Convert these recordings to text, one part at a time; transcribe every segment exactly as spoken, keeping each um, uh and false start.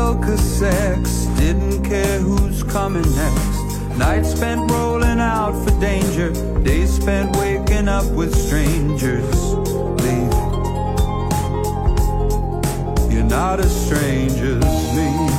well, 'cause sex didn't care who's coming next. Nights spent rolling out for danger, days spent waking up with strangers. Leave, you're not as strange as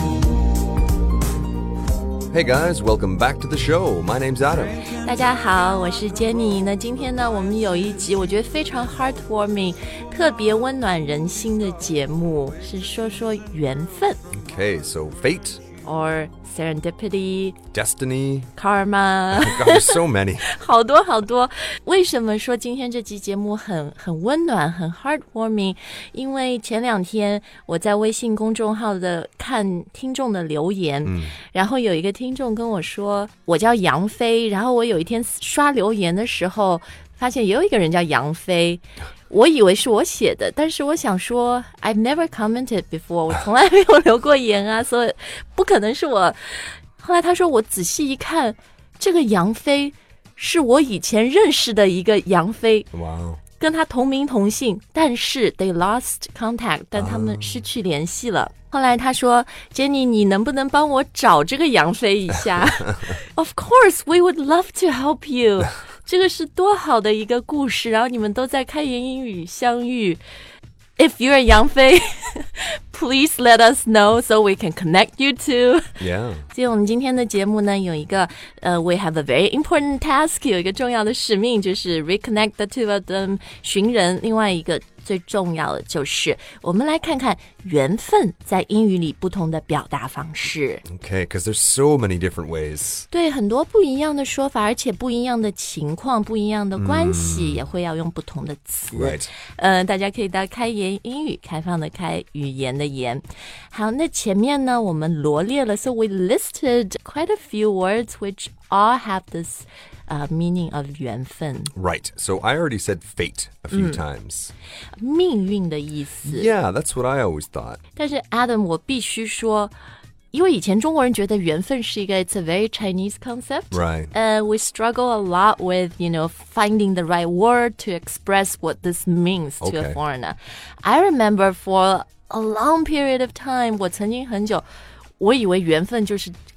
me.Hey guys, welcome back to the show. My name's Adam. 大家好，我是 Jenny。那今天呢，我们有一集我觉得非常 heartwarming， 特别温暖人心的节目，是说说缘分。 Okay, so fate. Or serendipity, destiny, karma. God, there's so many. 好多好多。为什么说今天这期节目很很温暖，很 heartwarming？ 因为前两天我在微信公众号的看听众的留言，嗯，然后有一个听众跟我说，我叫杨飞，然后我有一天刷留言的时候，发现也有一个人叫杨飞。我以为是我写的，但是我想说 I've never commented before， 我从来没有留过言啊，所以不可能是我。后来他说我仔细一看，这个杨飞是我以前认识的一个杨飞， wow. 跟他同名同姓，但是 they lost contact， 但他们失去联系了。Oh. 后来他说 Jenny 你能不能帮我找这个杨飞一下Of course we would love to help you 这个是多好的一个故事，然后你们都在开言英语相遇。If you're 杨飞please let us know so we can connect you to. Yeah. 所以我们今天的节目呢，有一个呃、uh, we have a very important task， 有一个重要的使命，就是 reconnect the two of them， 寻人。另外一个最重要的就是我们来看看缘分在英语里不同的表达方式。 Okay, because there's so many different ways. 对，很多不一样的说法，而且不一样的情况，不一样的关系、嗯、也会要用不同的词。 Right. 呃，大家可以到开言英语，开放的开，语言的言。好，那前面呢我们罗列了 so we listed quite a few words which all have this、uh, meaning of 缘分。 Right, so I already said fate a few、嗯、times. 命运的意思。 Yeah, that's what I always thought. 但是 Adam 我必须说，因为以前中国人觉得缘分是一个 it's a very Chinese concept. Right. Uh, we struggle a lot with, you know, finding the right word to express what this means to okay. a foreigner. I remember for a long period of time, 我曾经很久我以为缘分就是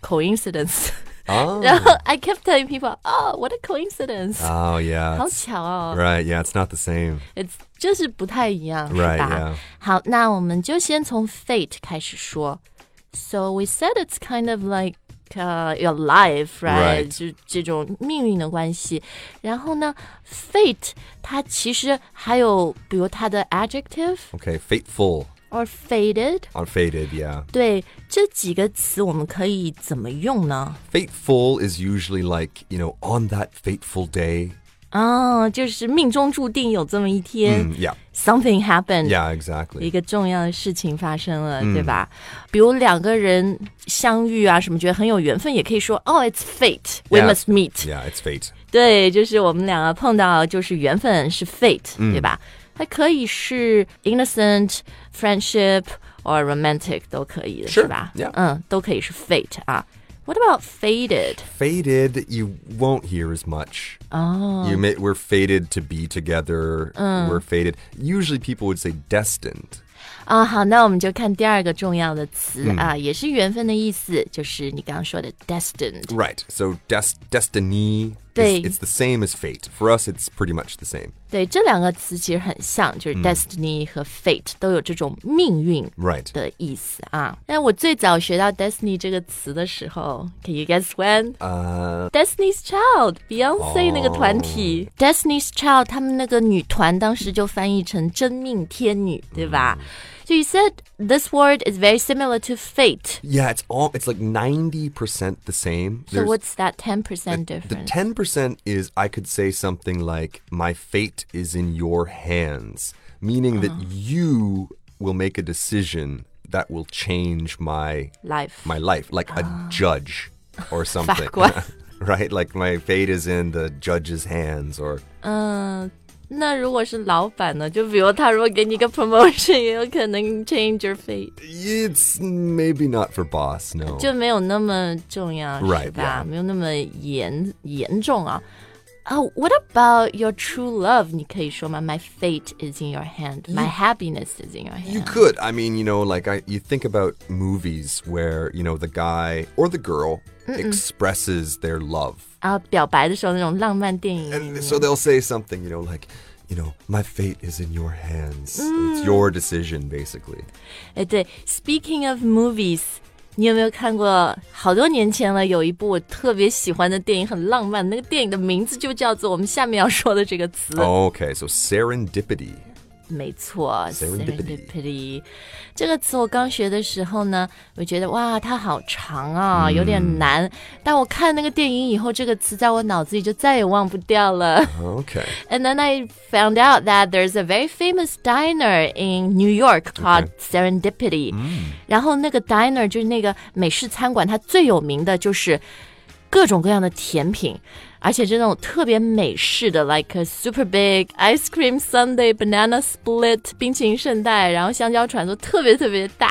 coincidence.Oh. 然后 I kept telling people, oh, what a coincidence. Oh, yeah. 好巧哦。 Right, yeah, it's not the same. It's 就是不太一样， right, 是吧？ yeah. 好，那我们就先从 fate 开始说。So we said it's kind of like、uh, your life, right? right. 就这种命运的关系。然后呢 fate 它其实还有比如它的 adjective. Okay, fateful.Or fated. Or fated, yeah. 对，这几个词我们可以怎么用呢？ Fateful is usually like, you know, on that fateful day. 哦，就是命中注定有这么一天。 Mm, yeah. Something happened. Yeah, exactly. 一个重要的事情发生了，嗯、对吧？比如两个人相遇啊，什么觉得很有缘分，也可以说哦 ，it's fate. We yeah. must meet. Yeah, it's fate. 对，就是我们两个碰到，就是缘分是 fate，、嗯、对吧？它可以是 innocent, friendship or romantic 都可以的， sure. 是吧？ Yeah. 嗯，都可以是 fate 啊。What about fated? Fated, you won't hear as much. Oh. You may, we're fated to be together. Mm. We're fated. Usually people would say destined. 啊，好，那我们就看第二个重要的词、 嗯、 啊，也是缘分的意思，就是你刚刚说的 destined. Right. So des destiny, is, it's the same as fate. For us, it's pretty much the same. 对，这两个词其实很像，就是 destiny、嗯、和 fate 都有这种命运的意思啊。那、right. 我最早学到 destiny 这个词的时候 ，Can you guess when？Uh, Destiny's Child, Beyonce、oh. 那个团体 Destiny's Child， 他们那个女团当时就翻译成真命天女，对吧？嗯So you said this word is very similar to fate. Yeah, it's all it's like ninety percent the same. So There's, what's that ten percent the, difference? The ten percent is I could say something like my fate is in your hands, meaning uh-huh. that you will make a decision that will change my life. My life, like uh. a judge or something. Right? Like my fate is in the judge's hands or uh, 那如果是老板呢？就比如他如果给你一个 promotion， 也有可能 change your fate. It's maybe not for boss, no. 就没有那么重要， right, 是吧？ yeah. 没有那么严严重啊。 Uh, what about your true love? 你可以说吗 My fate is in your hand. My happiness is in your hand. You could. I mean, you know, like I, you think about movies where, you know, the guy or the girl Mm-mm. expresses their love. 啊，表白的时候那种浪漫电影。 And so they'll say something, you know, like, you know, my fate is in your hands. Mm. It's your decision, basically. 哎，对 Speaking of movies.你有没有看过好多年前了有一部我特别喜欢的电影很浪漫那个电影的名字就叫做我们下面要说的这个词 Okay, so serendipity 没错 serendipity. serendipity 这个词我刚学的时候呢我觉得哇它好长啊、嗯、有点难但我看那个电影以后这个词在我脑子里就再也忘不掉了 Okay. And then I found out that there's a very famous diner in New York called okay. Serendipity、嗯、然后那个 diner 就是那个美式餐馆它最有名的就是各种各样的甜品而且是那种特别美式的 like a super big ice cream sundae banana split 冰淇淋圣代然后香蕉船都特别特别大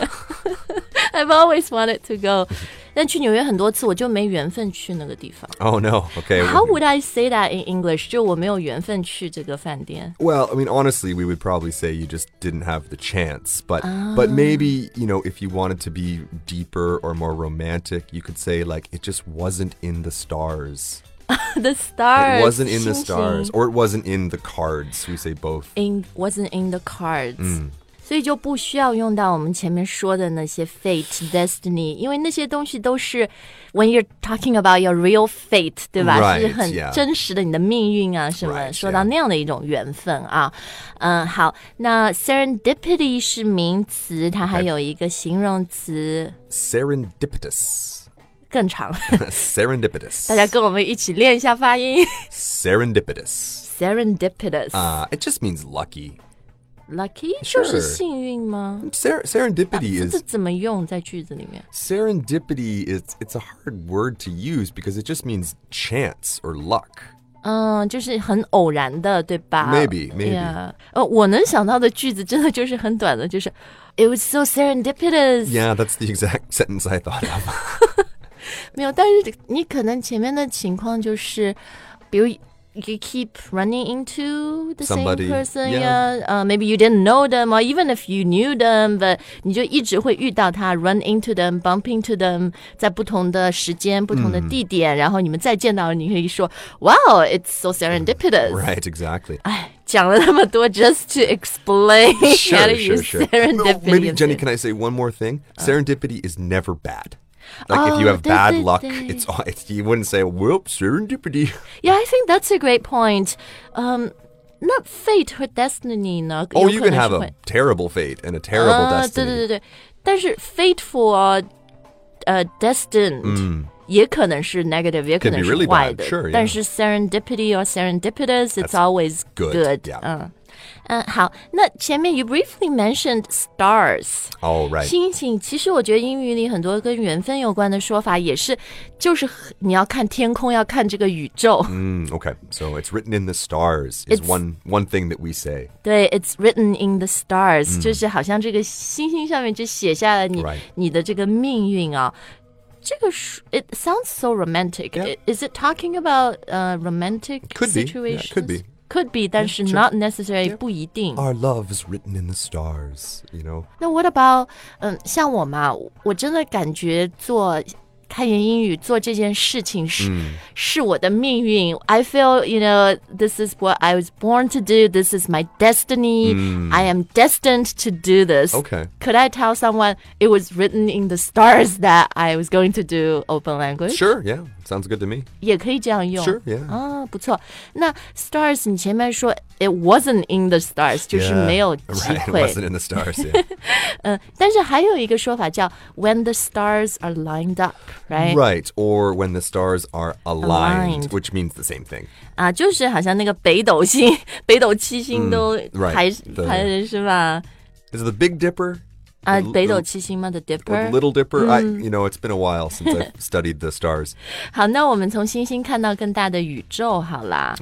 I've always wanted to go 但去纽约很多次我就没缘分去那个地方 Oh no, okay. How would I say that in English? 就我没有缘分去这个饭店 Well, I mean, honestly, we would probably say you just didn't have the chance. But, oh. but maybe, you know, if you wanted to be deeper or more romantic, you could say, like, it just wasn't in the stars. The stars. It wasn't in the 星星 stars. Or it wasn't in the cards. We say both. In, wasn't in the cards. 嗯所以就不需要用到我们前面说的那些 fate, destiny 因为那些东西都是 when you're talking about your real fate 对吧 right, 是很 yeah. 真实的你的命运啊什么 right, 说到那样的一种缘分啊嗯好那 serendipity 是名词它还有一个形容词 Serendipitous 更长 Serendipitous 大家跟我们一起练一下发音 Serendipitous Serendipitous uh, It just means lucky Lucky? Sure. 就是幸运吗 Ser- Serendipity is... 这怎么用在句子里面 Serendipity is... It's a hard word to use because it just means chance or luck. 嗯，就是很偶然的，对吧 Maybe, maybe. Yeah. 呃，我能想到的句子真的就是很短的，就是 It was so serendipitous. Yeah, that's the exact sentence I thought of. 没有，但是你可能前面的情况就是，比如。You keep running into the Somebody, same person, yeah. yeah. Uh, maybe you didn't know them, or even if you knew them, but 你就一直会遇到他 run into them, bump into them, 在不同的时间、不同的地点，嗯、然后你们再见到，你可以说 Wow, it's so serendipitous. Right, exactly. 哎，讲了那么多 just to explain sure, how to sure, use sure. serendipity. No, maybe, Jenny, can I say one more thing? Uh. Serendipity is never bad. Like oh, if you have bad 对对对 luck, it's, it's you wouldn't say, whoops, serendipity. Yeah, I think that's a great point. Um, not fate or destiny 呢 Oh, you can have a terrible fate and a terrible uh, destiny. 对对对对，但是 fateful, uh, destined、嗯、也可能是 negative， 也可能是坏的。 Really sure, yeah. 但是 serendipity or serendipitous, it's That's always good. good. Yeah. 嗯。嗯，好，那前面 you briefly mentioned stars. Oh, right. 星星，其实我觉得英语里很多跟缘分有关的说法也是，就是你要看天空，要看这个宇宙。 Mm, okay, so it's written in the stars is one one thing that we say. 对 ，it's written in the stars，、嗯、就是好像这个星星上面就写下了你、right. 你的这个命运啊。这个 it sounds so romantic. Yeah. Is it talking about uh, romantic could situations? Be. Yeah, could be. Could be, 但是 not necessarily、yeah. 不一定。 Our love is written in the stars, you know. 那 what about 嗯，像我嘛，我真的感觉做开言英语做这件事情是、嗯、是我的命运。I feel, you know, this is what I was born to do. This is my destiny. 嗯、I am destined to do this. Okay. Could I tell someone it was written in the stars that I was going to do open language? Sure, yeah. Sounds good to me. 也可以这样用。 Sure, yeah. 啊，不错。那 stars 你前面说 it wasn't in the stars， 就是没有机会。 Yeah, right, it wasn't in the stars, yeah. 嗯，但是还有一个说法叫 when the stars are lined up, right? Right, or when the stars are aligned, aligned. which means the same thing. 啊，就是好像那个北斗星、北斗七星都排、 嗯 right, 排的是吧 ？Is it the Big Dipper? 啊，北斗七星吗 ？The Dipper, the Little Dipper. I, you know, it's been a while since I've studied the stars. 好，那我们从星星看到更大的宇宙，好啦。 Okay.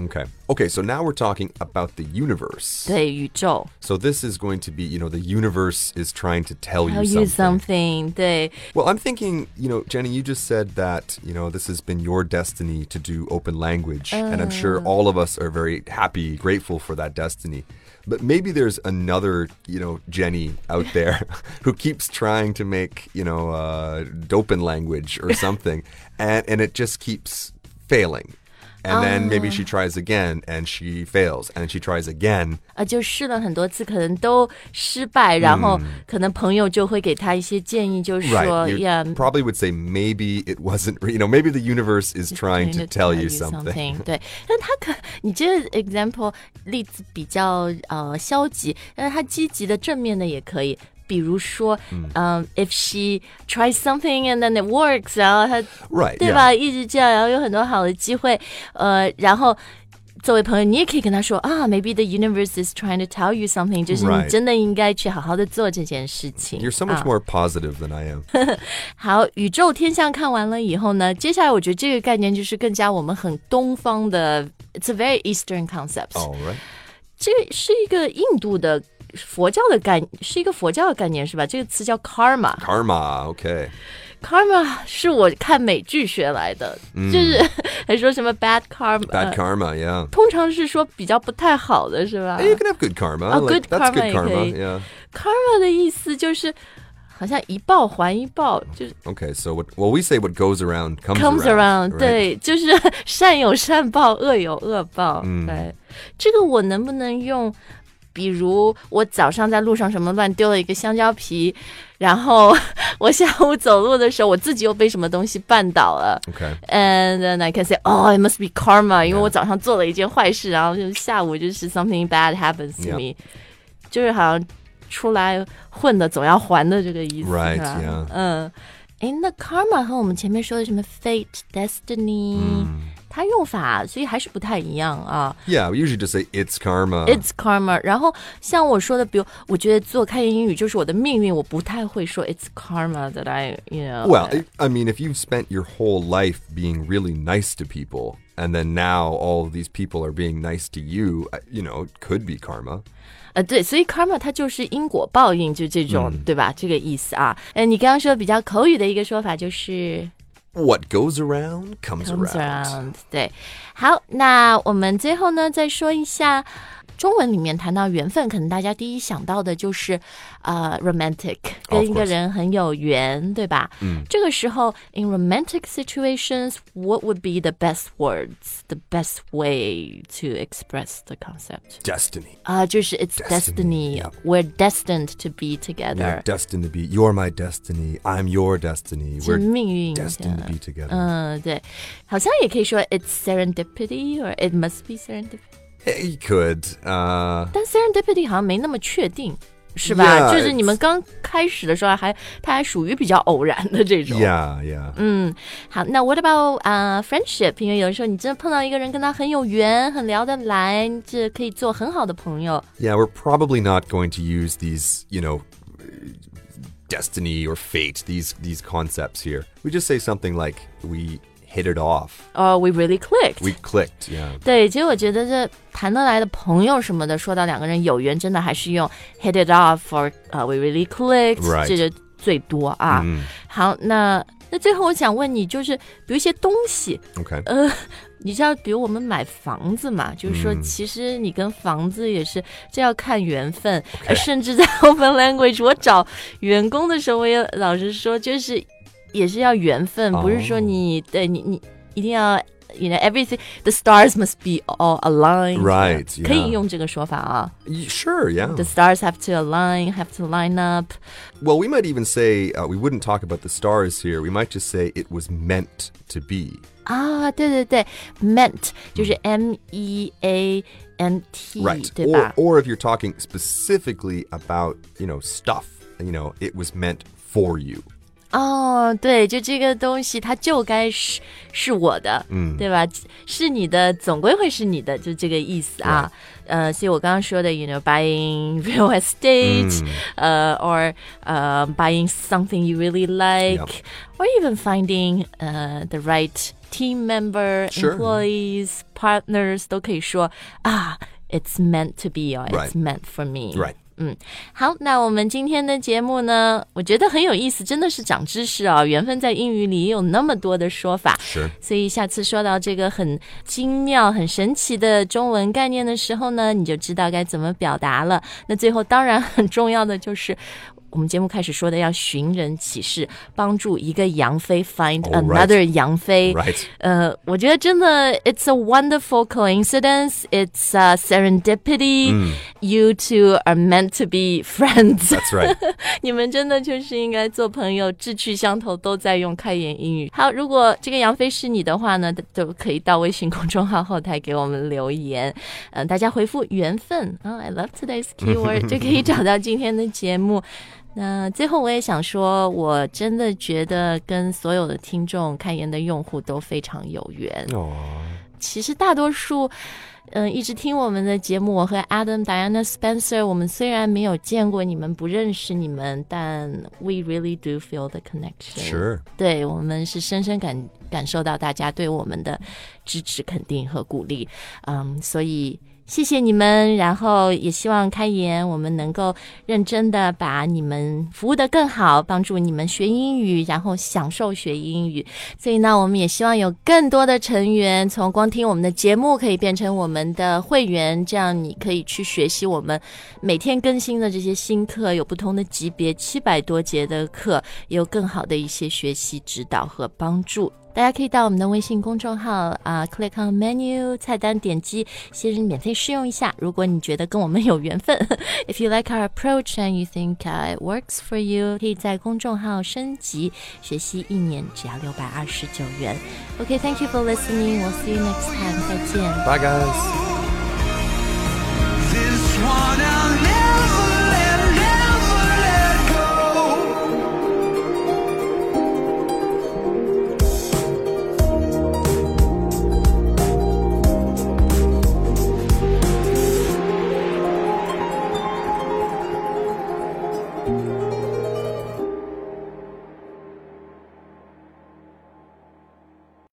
Okay, so now we're talking about the universe. 对，宇宙。 So this is going to be, you know, the universe is trying to tell Tell you you something. something. 对。 Well, I'm thinking, you know, Jenny, you just said that, you know, this has been your destiny to do open language. Uh. And I'm sure all of us are very happy, grateful for that destiny. But maybe there's another, you know, Jenny out there who keeps trying to make, you know, uh, open language or something. and, and it just keeps failing. And then maybe she tries again and she fails and she tries again. 啊，就试了很多次，可能都失败，然后可能朋友就会给他一些建议，就是说 Right. You ，yeah, probably would say maybe it wasn't, you know, maybe the universe is trying to tell you something. 对，但他可，你这个 example 例子比较呃消极，但是他积极的正面的也可以。比如说，嗯、um, ，if she tries something and then it works， 然后她 Right, 对吧？ yeah. 一直这样，然后有很多好的机会，呃，然后作为朋友，你也可以跟他说啊 ，maybe the universe is trying to tell you something， 就是你 Right. 真的应该去好好的做这件事情。 You're so much 啊 more positive than I am. 好，宇宙天象看完了以后呢，接下来我觉得这个概念就是更加我们很东方的 ，it's a very Eastern concept。 All right. 这是一个印度的。佛教的概是一个佛教的概念是吧？这个词叫 karma。 Karma, okay. Karma 是我看美剧学来的，嗯、就是还说什么 bad karma。 Bad karma, yeah. 通常是说比较不太好的是吧 Hey, you can have good karma. Oh, like, good that's karma good karma, 也可以 yeah. Karma 的意思就是好像一报还一报，就是 Okay, so what, well, we say what goes around comes, comes around， right? 对，就是善有善报，恶有恶报。 嗯、 对，这个我能不能用？比如我早上在路上什么乱丢了一个香蕉皮，然后我下午走路的时候，我自己又被什么东西绊倒了。 Okay. And then I can say, oh, it must be karma， 因为我早上做了一件坏事，然后就下午就是 something bad happens to me， 就是好像出来混的总要还的这个意思。 Right, 是吧 yeah. 嗯，诶，那 karma 和我们前面说的什么 fate、destiny、嗯。它用法所以还是不太一样啊。 Yeah, we usually just say it's karma. It's karma. 然后像我说的，比如我觉得做开言英语就是我的命运，我不太会说 it's karma that I, you know. Well, I mean, if you've spent your whole life being really nice to people, and then now all of these people are being nice to you, you know, it could be karma. 呃，对，所以 karma 它就是因果报应，就这种，嗯、对吧？这个意思啊。呃，你刚刚说比较口语的一个说法就是。 What goes around comes, comes around. around. 对，好，那我们最后呢，再说一下中文里面谈到缘分，可能大家第一想到的就是呃 romantic， 跟一个人很有缘，对吧？嗯，这个时候 in romantic situations, what would be the best words, the best way to express the concept? Destiny. 啊、uh, 就是 it's destiny. destiny yeah. We're destined to be together. Yeah, destined to be. You're my destiny. I'm your destiny. We're 命运 destined to be together. 嗯，对，好像也可以说 it's serendipity or it must be serendipity. You could. Uh, 但 serendipity 好像没那么确定，是吧？ Yeah, 就是你们刚开始的时候还，它还属于比较偶然的这种。 Yeah, yeah. 嗯，好，那 what about 啊、uh, friendship？ 因为有的时候你真的碰到一个人跟他很有缘，很聊得来，这可以做很好的朋友。 Yeah, we're probably not going to use these, you know, destiny or fate, these these concepts here. We just say something like we hit it off. Oh, we really clicked. We clicked, yeah. 对，其实我觉得这谈得来的朋友什么的，说到两个人有缘，真的还是用 hit it off or、uh, we really clicked， Right. 这就最多啊。嗯、好，那那最后我想问你，就是比如一些东西 ，OK， 呃，你知道，比如我们买房子嘛，就是说，其实你跟房子也是这要看缘分， Okay. 甚至在 open language， 我找员工的时候，我也老实说，就是也是要缘分， Oh. 不是说你对你你一定要。You know, everything, the stars must be all aligned. Right, yeah. 可以用这个说法啊。 Sure, yeah. The stars have to align, have to line up. Well, we might even say, uh, we wouldn't talk about the stars here. We might just say it was meant to be. 啊，对对对 meant 就是 M E A N T, Right. 对吧？ Or, or if you're talking specifically about, you know, stuff, you know, it was meant for you. 哦，对，就这个东西它就该是是我的，嗯，对吧？是你的总归会是你的，就这个意思啊。呃，所以我刚刚说的 you know buying real estate、嗯、呃 or 呃、uh, buying something you really like、yep. or even finding 呃、uh, the right team member、sure. employees partners 都可以说啊 it's meant to be or it's、right. meant for me right 嗯，好，那我们今天的节目呢，我觉得很有意思，真的是长知识啊！缘分在英语里也有那么多的说法， 是， 所以下次说到这个很精妙、很神奇的中文概念的时候呢，你就知道该怎么表达了。那最后当然很重要的就是我们节目开始说的要寻人启事，帮助一个杨飞 find another、oh, 杨飞。 Right. 呃，我觉得真的 it's a wonderful coincidence. It's a serendipity.、Mm. You two are meant to be friends. That's right. 你们真的就是应该做朋友，志趣相投，都在用开言英语。好，如果这个杨飞是你的话呢，都可以到微信公众号后台给我们留言。嗯、呃，大家回复缘分啊、oh, ，I love today's keyword 就可以找到今天的节目。那最后我也想说，我真的觉得跟所有的听众开言的用户都非常有缘。 哦， 其实大多数嗯，一直听我们的节目，我和 Adam、Diana、Spencer 我们虽然没有见过你们，不认识你们，但 we really do feel the connection. Sure. 对，我们是深深感感受到大家对我们的支持、肯定和鼓励。嗯，所以谢谢你们，然后也希望开言我们能够认真的把你们服务得更好，帮助你们学英语，然后享受学英语。所以呢，我们也希望有更多的成员从光听我们的节目可以变成我们的会员，这样你可以去学习我们每天更新的这些新课，有不同的级别，七百多节的课，也有更好的一些学习指导和帮助。大家可以到我们的微信公众号啊、uh, click on menu 菜单点击先免费试用一下，如果你觉得跟我们有缘分If you like our approach and you think、uh, it works for you 可以在公众号升级学习一年只要六百二十九元。 OK, thank you for listening. We'll see you next time. 再见。 Bye guys. This one I'll never